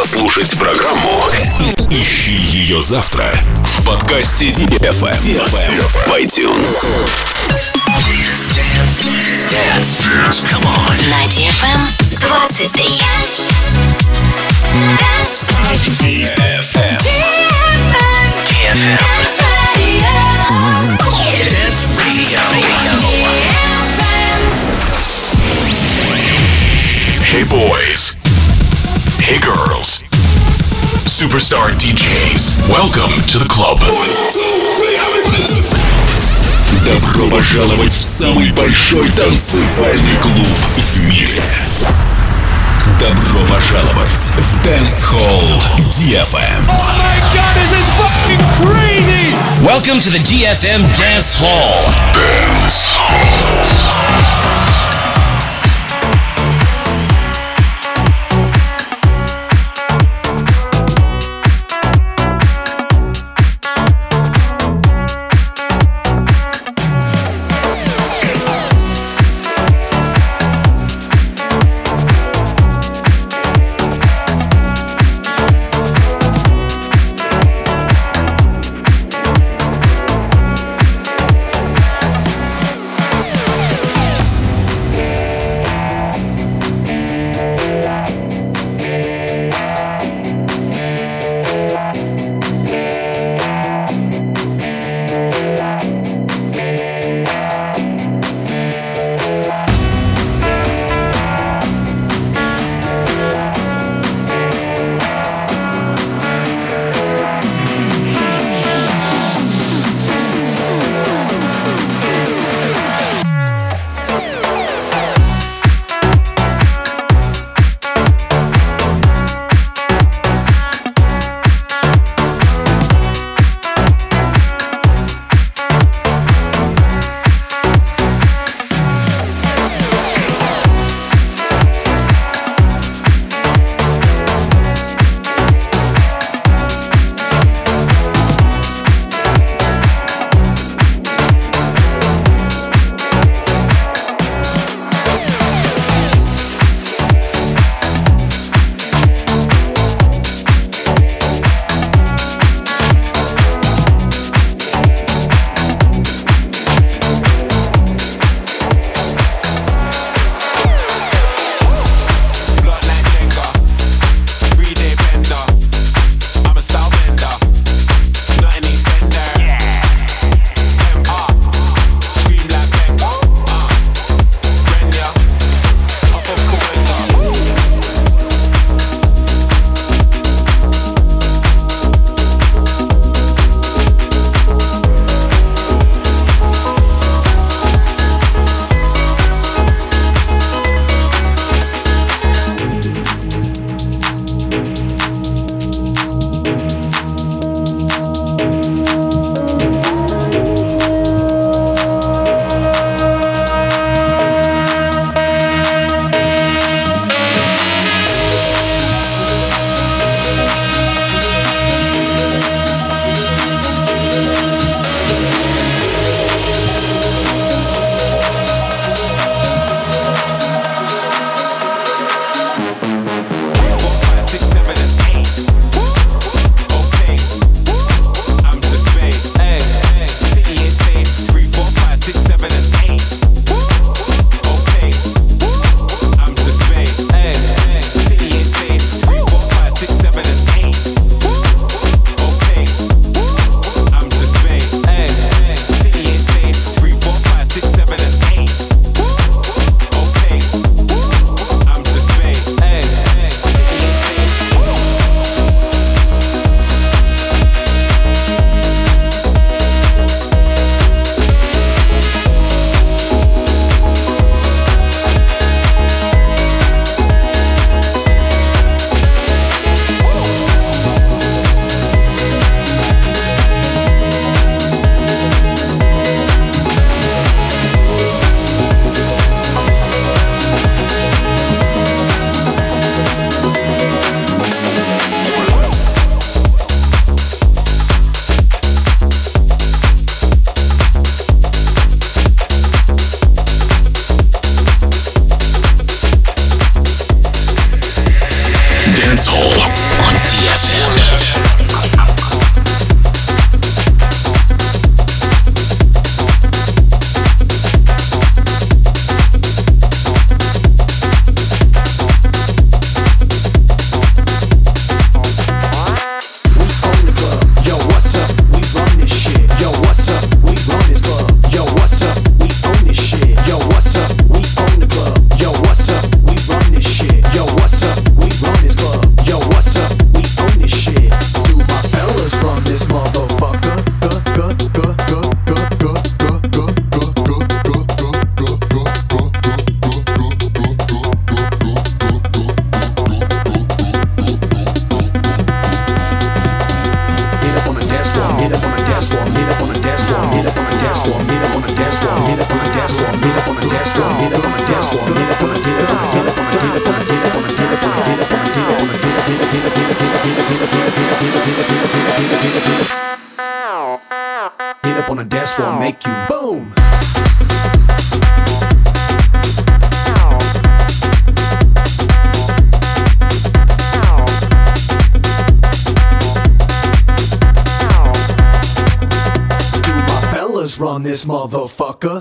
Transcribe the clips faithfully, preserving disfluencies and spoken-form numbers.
Послушать программу ищи ее завтра в подкасте ди эф эм в iTunes. Dance, dance, dance, dance, come on. На ди эф эм двадцать три. ди эф эм. ди эф эм. Dance Radio. Hey boys. Hey girls. Superstar ди джейс. Welcome to the club. Добро пожаловать в самый большой танцевальный клуб в мире. Добро пожаловать в Dance Hall ди эф эм. Oh my god, this is fucking crazy! Welcome to the ди эф эм Dance Hall. Dance Hall. up on the dance floor, get up on the dance floor, get up on the get up on the get up on the get up on the get up on the get up on the get up on the get up on the get up get up get up get up get up get up get up get up get up get up get up get up get up get up on the dance floor, make you boom. Run this motherfucker.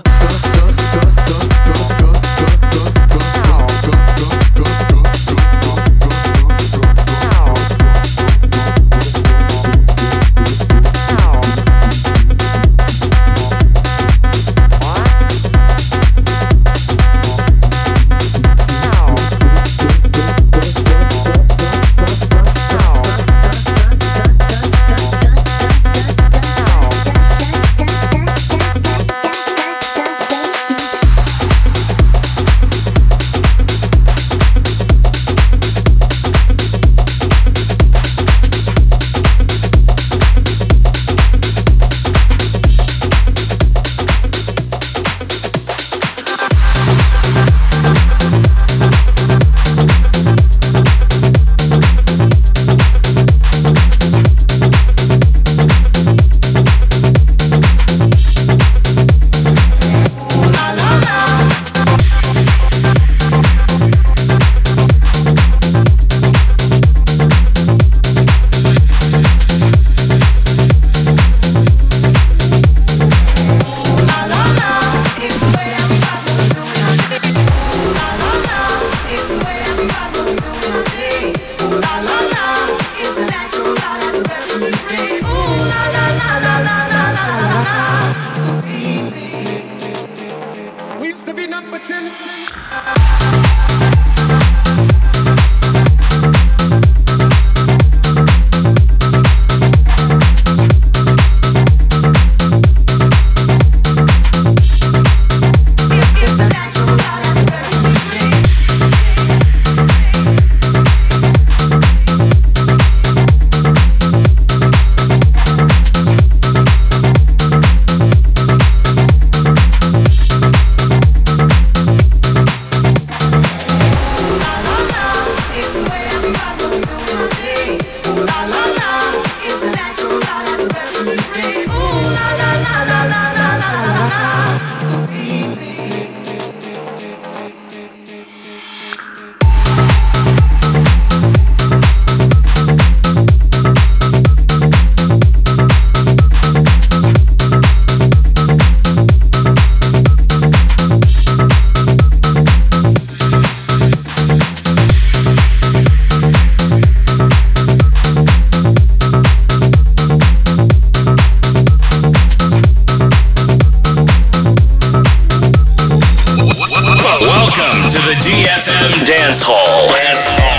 Dance Hall. Dance Hall.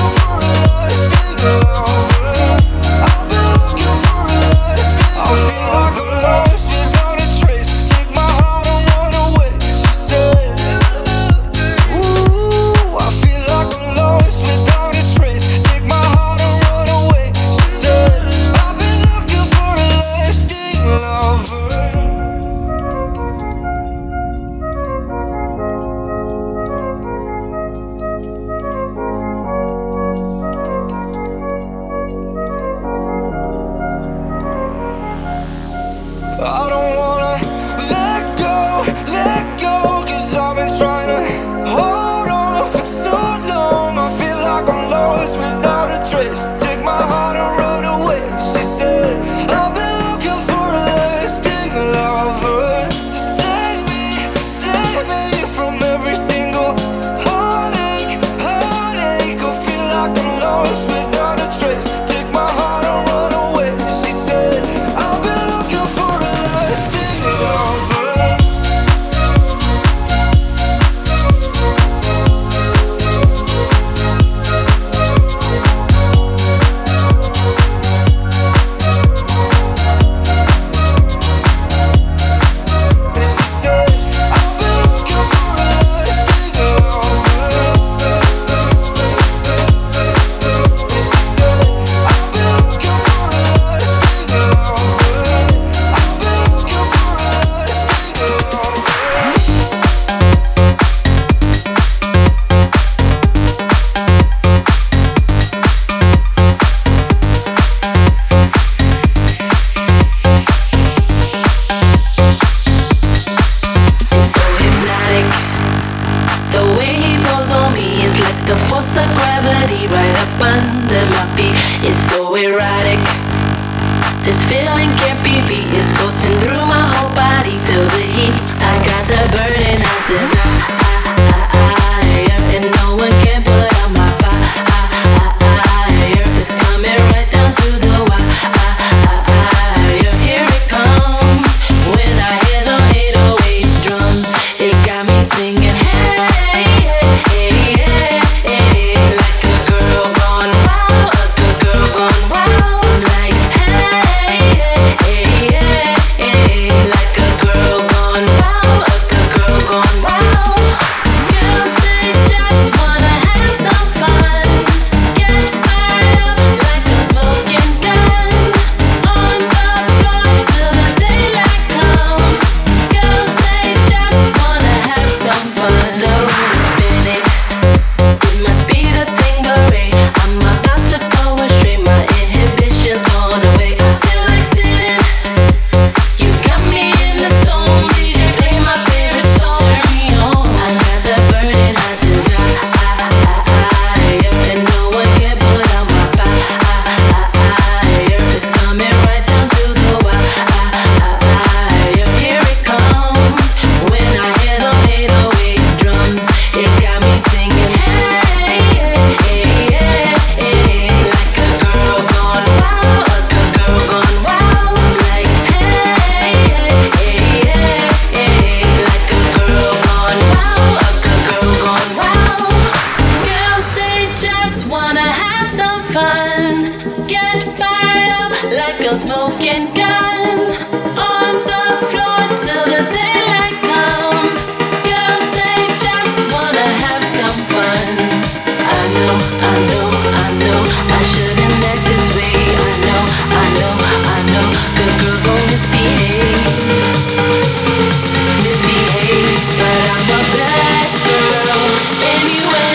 I feel on my feet. It's so erotic. This feeling can't be beat. It's coursing through my whole body. Feel the heat. I got the burning hot desire. And no one can put out my fire. It's coming right down to the wire. Here it comes. When I hear the eight oh eight drums, it's got me singing. Hey, hey, hey, hey, like a girl gone wild, like a girl gone wild. Like hey, hey, hey, hey, like a girl gone wild, like a girl gone wild. Girls they just wanna have some fun, get fired up like a smoking gun, on the floor till the daylight comes. Girls they just wanna have some fun. The room is spinning, it must be the Tingleray. I'm about to go astray, my inhibitions gone away. I feel like sitting. You got me in the zone. D J play my favorite song. Turn me on. I got the burning hot desire, and no one can put out my fire. It's coming right down to the wire. Here it comes. When I hear the eight oh eight drums, it's got me singing. Hey, hey, hey, hey, like a girl gone wild, like a girl gone wild. Like hey, hey, hey, hey, like a girl gone wild, like a girl gone wild. Girls they just wanna have some fun, get fired up like a smoking gun, on the floor till the daylight comes. Girls they just wanna have some fun. I know, I know, I know, I shouldn't act this way. I know, I know, I know, good girls won't misbehave, misbehave, but I'm a bad girl anyway.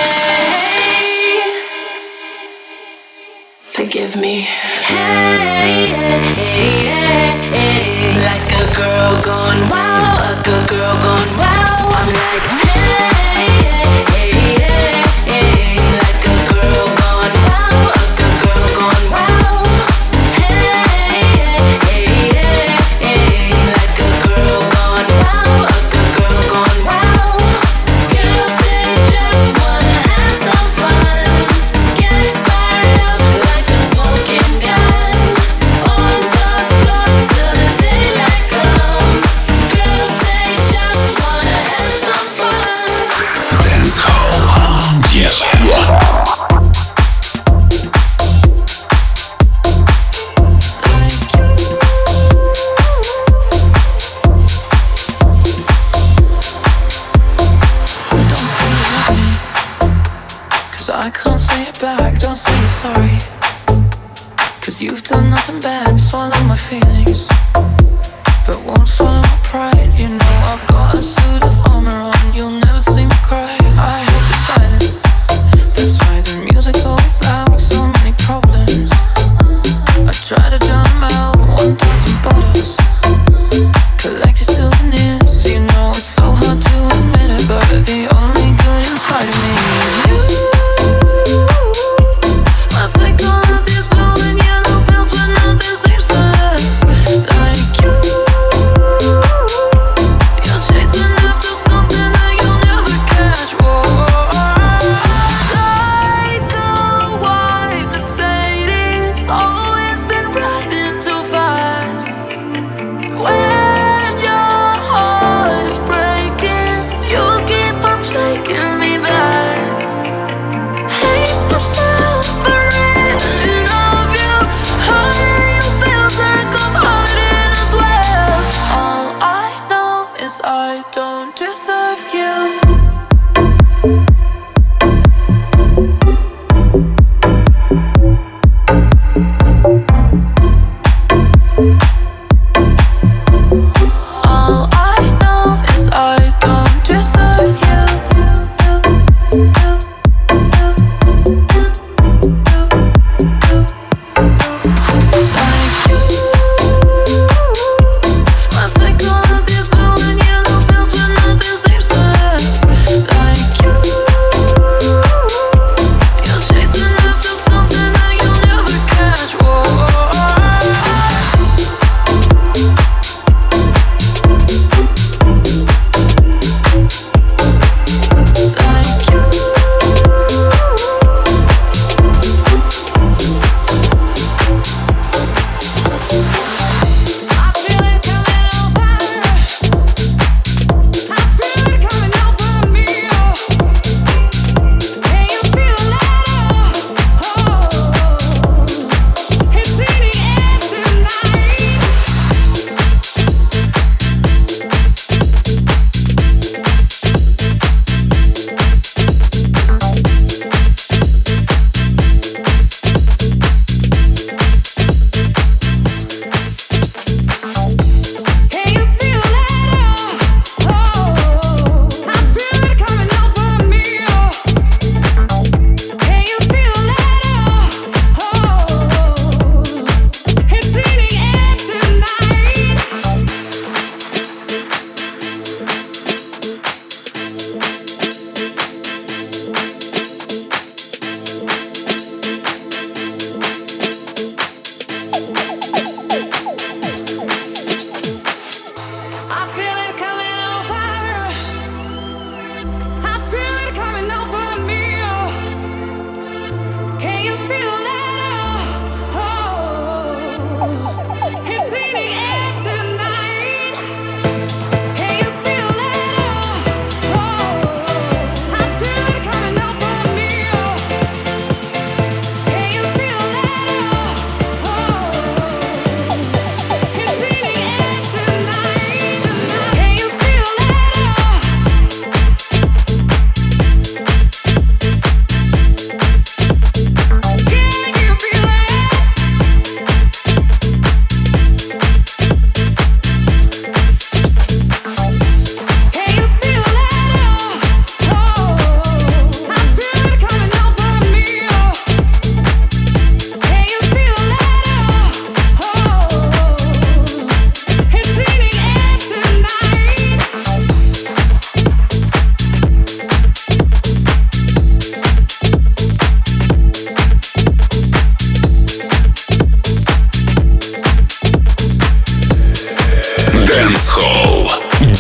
Forgive me. Hey, hey, hey, hey, like a girl gone wild, like a girl gone wild. I'm like hey, hey, hey, hey, like a girl gone wild, like a girl gone wild. Hey, hey, hey, hey, like a girl gone wild, like a girl gone wild. Girls they just wanna have some fun, get fired up like a smoking gun, on the floor till the daylight comes. Girls they just wanna have some fun. Dance Hall. Cause I can't say it back, don't say you're sorry. Cause you've done nothing bad, swallow my feelings, but won't swallow my pride. You know I've got a suit of armor on, you'll never see me cry. I hate the silence, that's why the music's always loud. So many problems, I try to drown them out. One thousand bottles, collected souvenirs. You know it's so hard to admit it, but the only good inside of me is you. I'll take all of these blowing yellow pills when nothing seems to last. Like you, you're chasing after something that you'll never catch. Whoa. Like a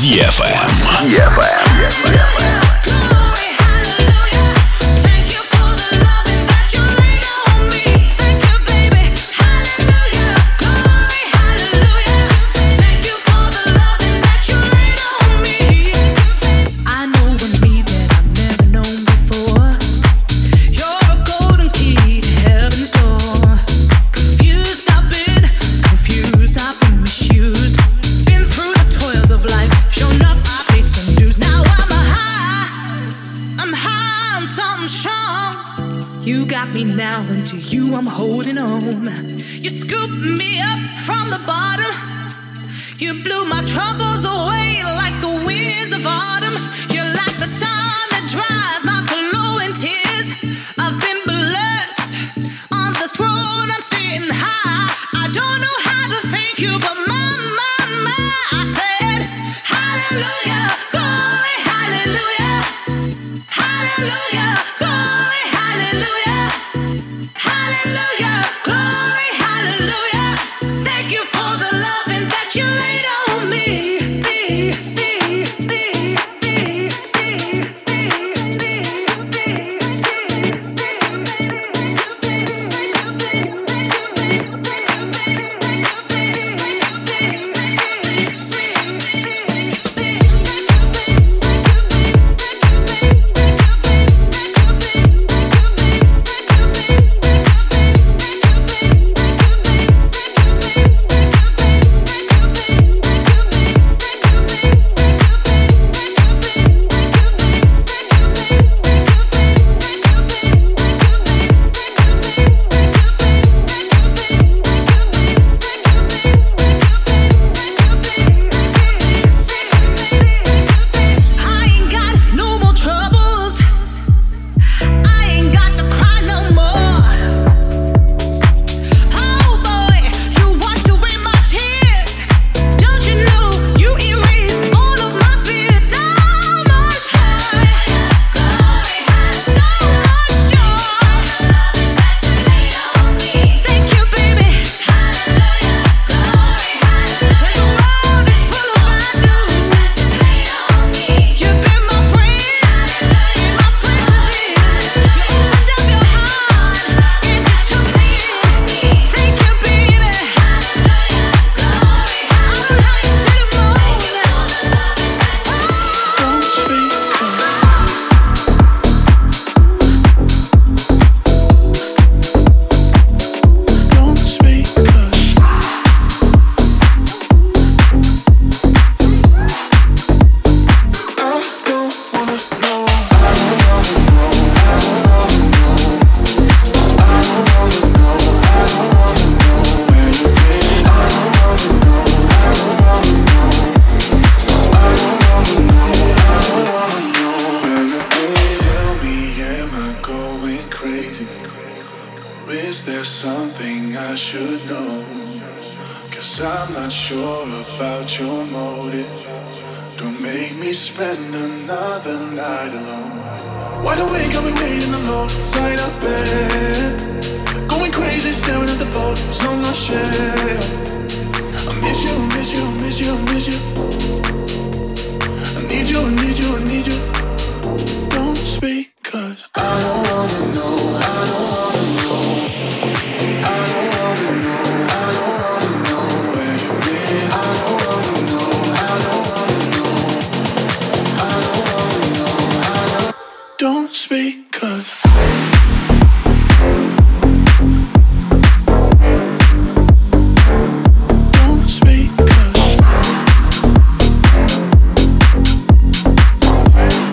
эф эм. Now and to you I'm holding on. You scooped me up from the bottom. You blew my troubles away like the winds of autumn. You're like the sun that dries my glowing tears. I've been blessed. On the throne I'm sitting high. I don't know how to thank you, but my, my, my, I said hallelujah, glory, hallelujah, hallelujah, glory, hallelujah. Hallelujah, glory, hallelujah. Thank you for the loving that you laid on me. me, me, me, me, me, Is there something I should know? Cause I'm not sure about your motive. Don't make me spend another night alone. Wide awake, I've been waiting alone inside a bed, going crazy, staring at the photos on my shelf. I miss you, miss you, miss you, miss you. I need you, I need you, I need you. Don't speak, cause I don't wanna know, I don't wanna know. I don't wanna know, I don't wanna know where you've been. I don't wanna know, I don't wanna know. I don't wanna know, I don't. Don't speak, cause don't speak, cause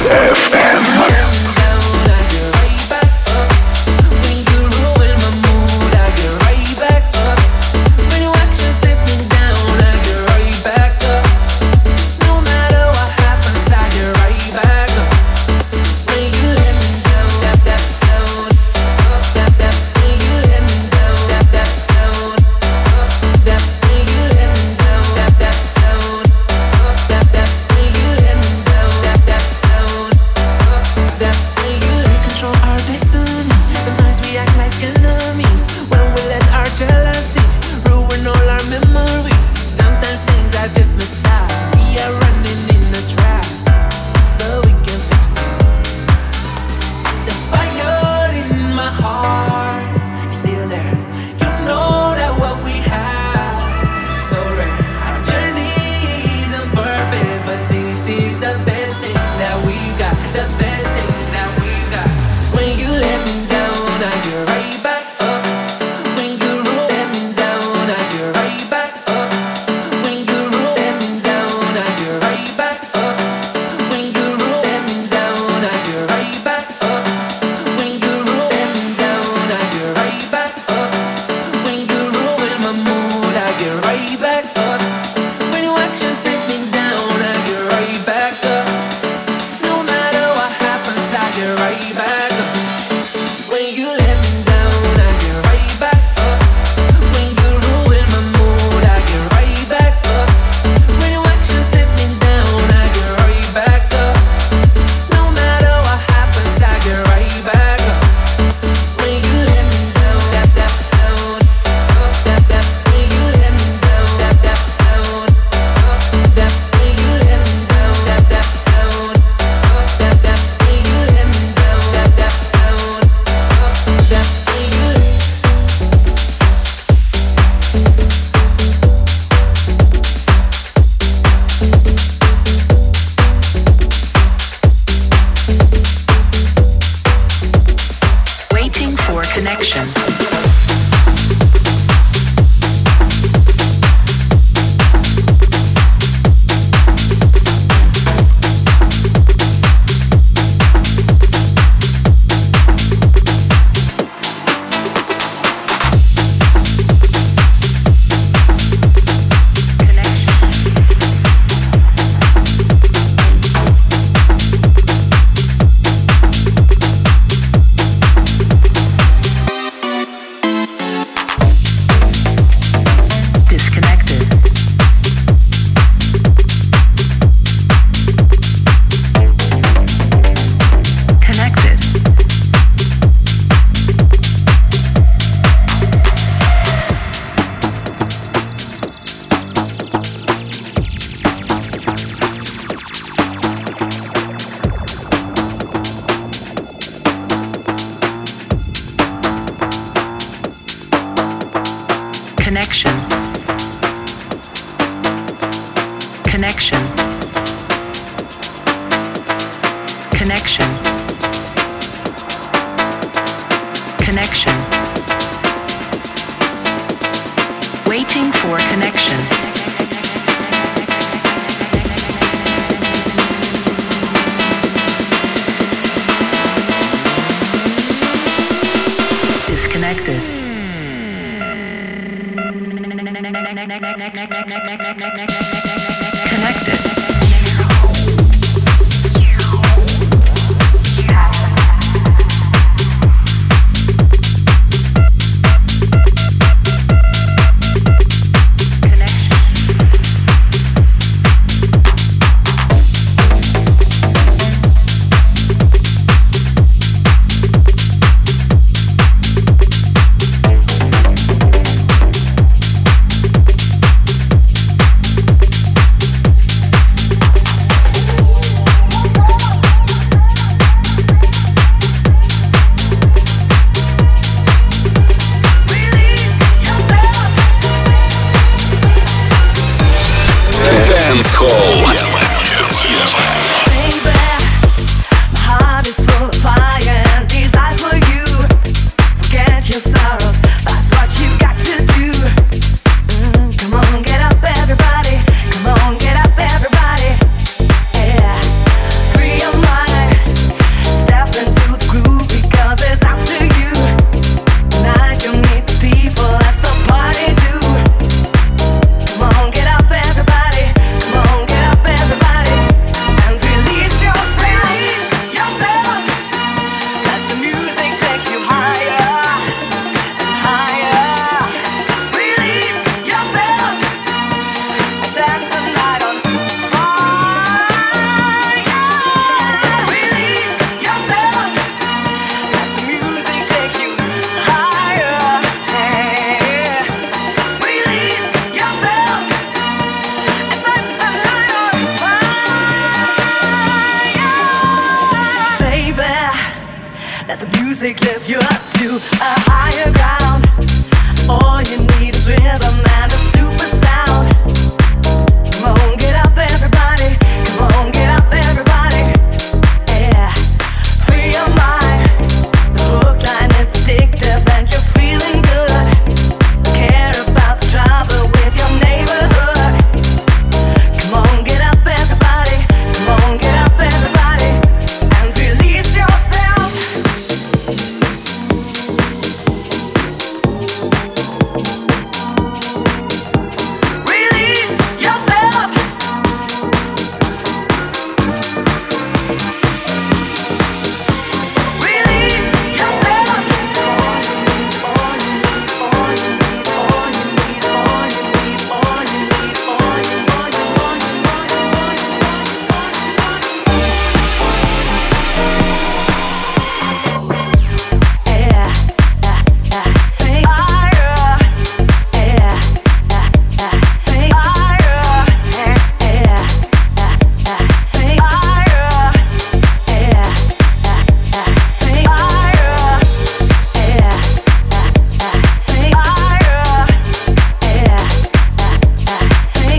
эф эм. Free your mind. music lifts you up to a higher ground. All you need is rhythm and a super sound. Come on, get up everybody. Come on, get up everybody. Yeah, free your mind. The hook line is addictive and you're feeling good. Care about the trouble with your neighborhood. Come on, get up everybody. Come on, get up everybody. And release yourself. Release yourself. Release yourself. Yeah, yeah, yeah. Fire. Yeah, yeah, yeah. Fire. Yeah, yeah, yeah, yeah. Fire. Yeah, yeah, yeah. Fire. Yeah, yeah, yeah. Fire. Yeah, yeah, yeah.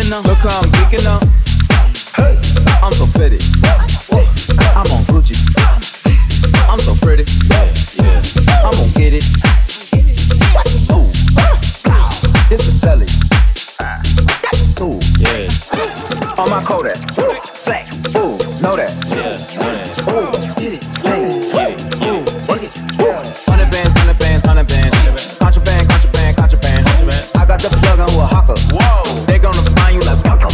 geeking up. Look how I'm geeking up. Hey, I'm so pretty. I'm on Gucci. I'm so pretty. Yeah, yeah. I'm gon' get it. Ooh, it's a celly. That's a tool. Yeah. On my Kodak. Black. Ooh, know that. Yeah, know that. Ooh, get it. Hey, get it. Ooh, get it. Hundred bands, hundred bands, hundred bands. Contraband, contraband, contraband. I got the plug on with a hawker. Whoa. They gonna find you like Paco.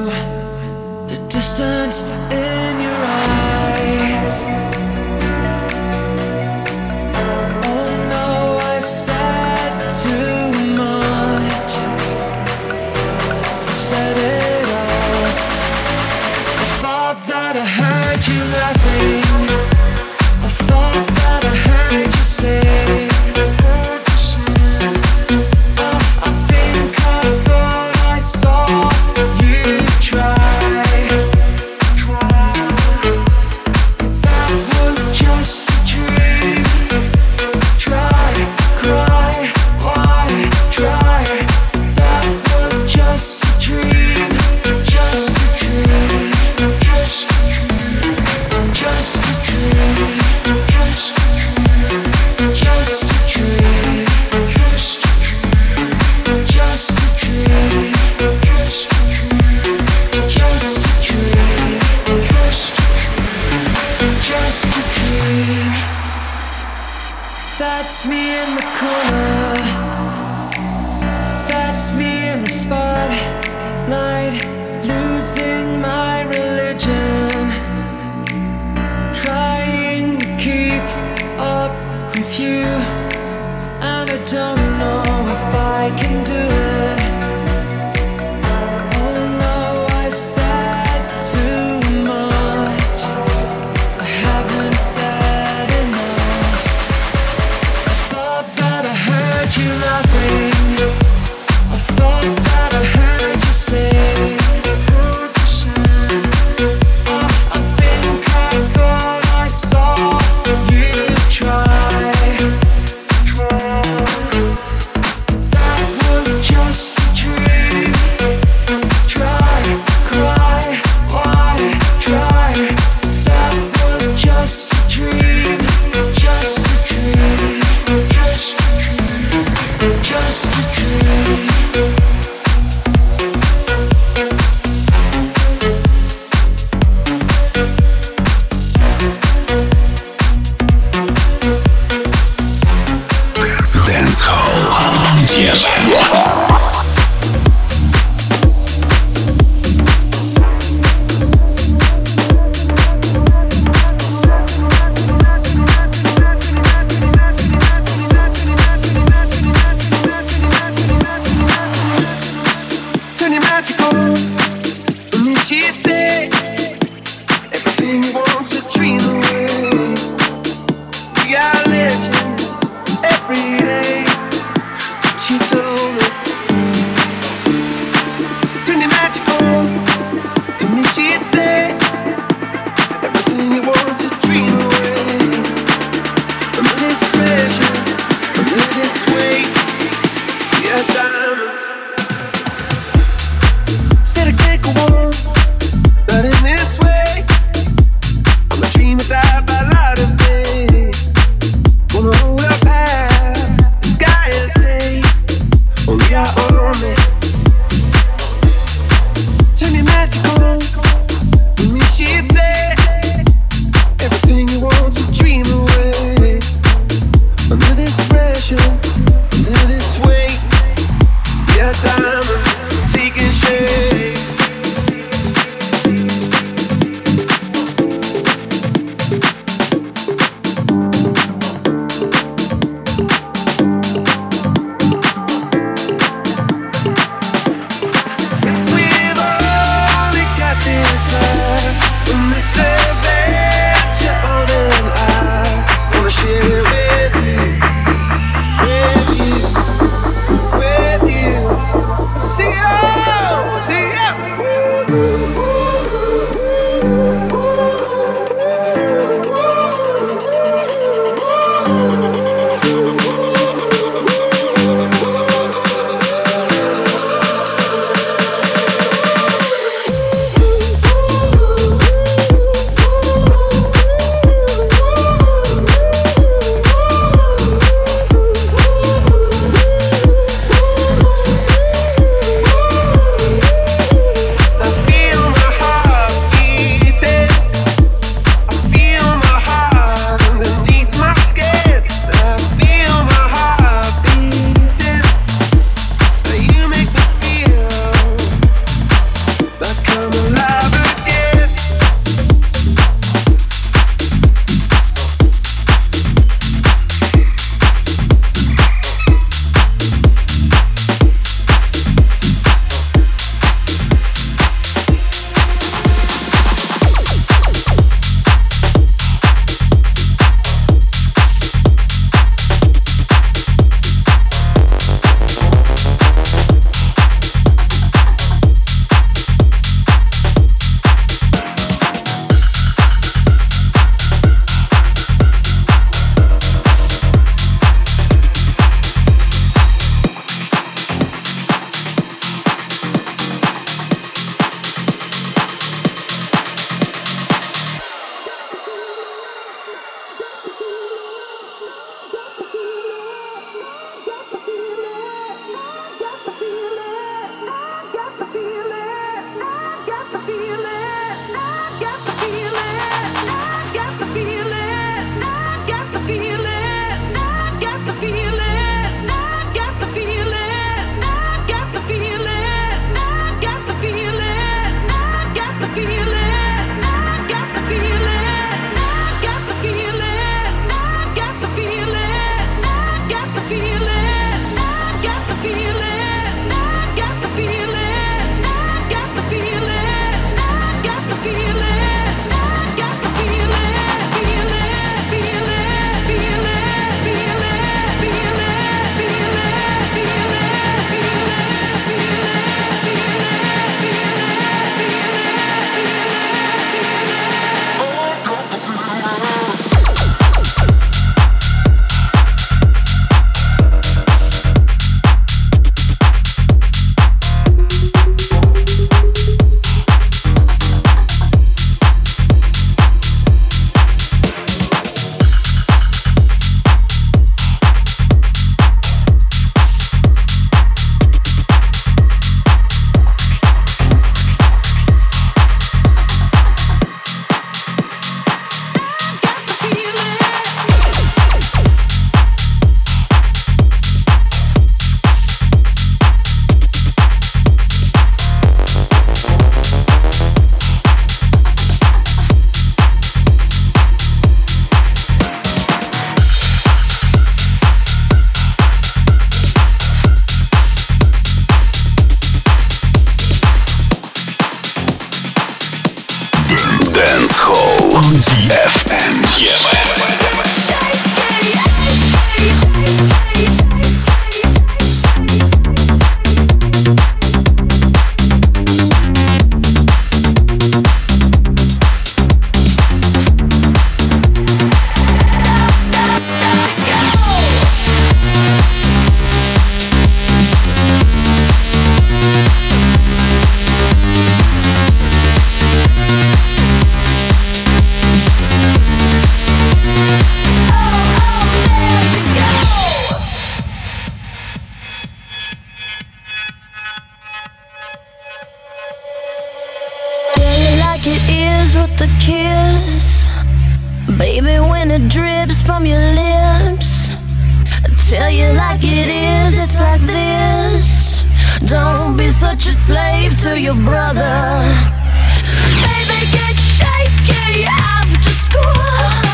the distance in your eyes. Oh no, I've said too much, said it all. I thought that I heard you laughing, I thought that I heard you say, that's me in the corner, that's me in the spotlight, losing my religion, trying to keep up with you, and I don't know if I can do it. Oh no, I've said too much, I haven't said enough. You laughing, I thought that I heard you say, oh, I think I thought I saw you try. That was just a dream. Try, cry, why try? That was just a dream, just a dream, just a dream. Just a dream. Dance Hall. Yeah. When the Dance Hall ди эф эм. Baby, when it drips from your lips, tell you like it is, it's like this. Don't be such a slave to your brother. Baby, get shaky after school.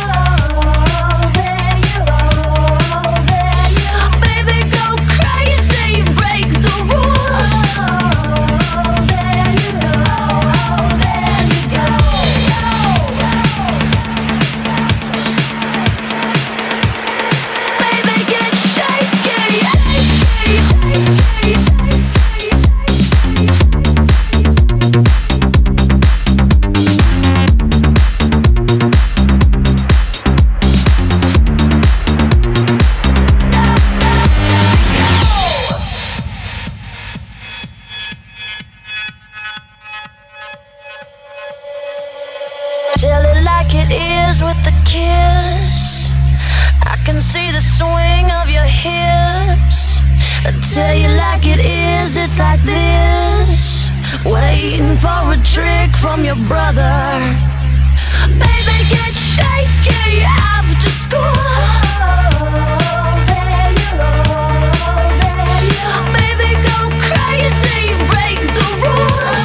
Tell it like it is with a kiss. I can see the swing of your hips. Tell you like it is, it's like this. Waiting for a trick from your brother. Baby, get shaky after school. Baby, go crazy, break the rules.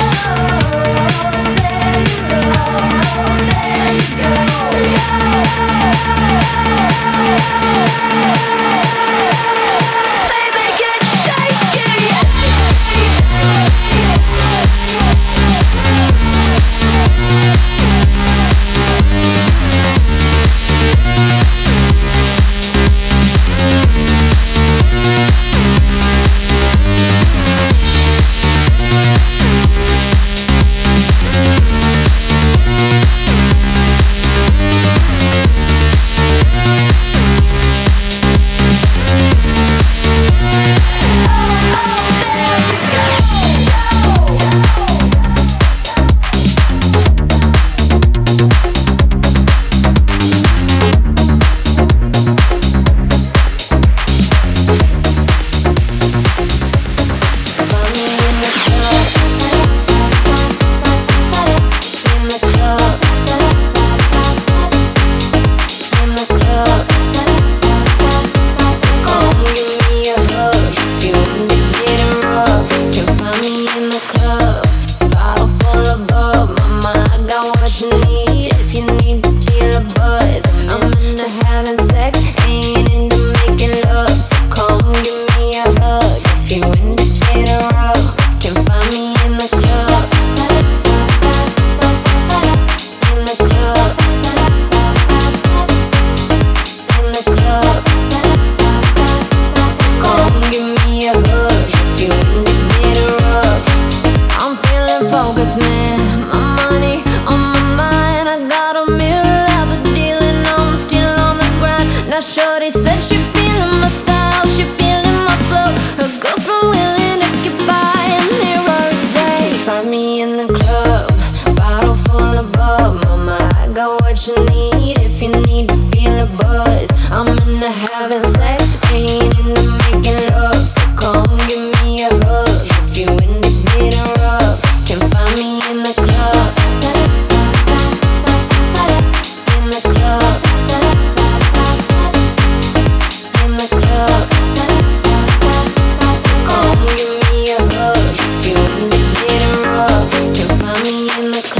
Shorty said she feeling my style, she feeling my flow. Her girlfriend willing to get by and there are days. Find me in the club, bottle full of bub. Mama, I got what you need if you need to feel a buzz. I'm into having sex, ain't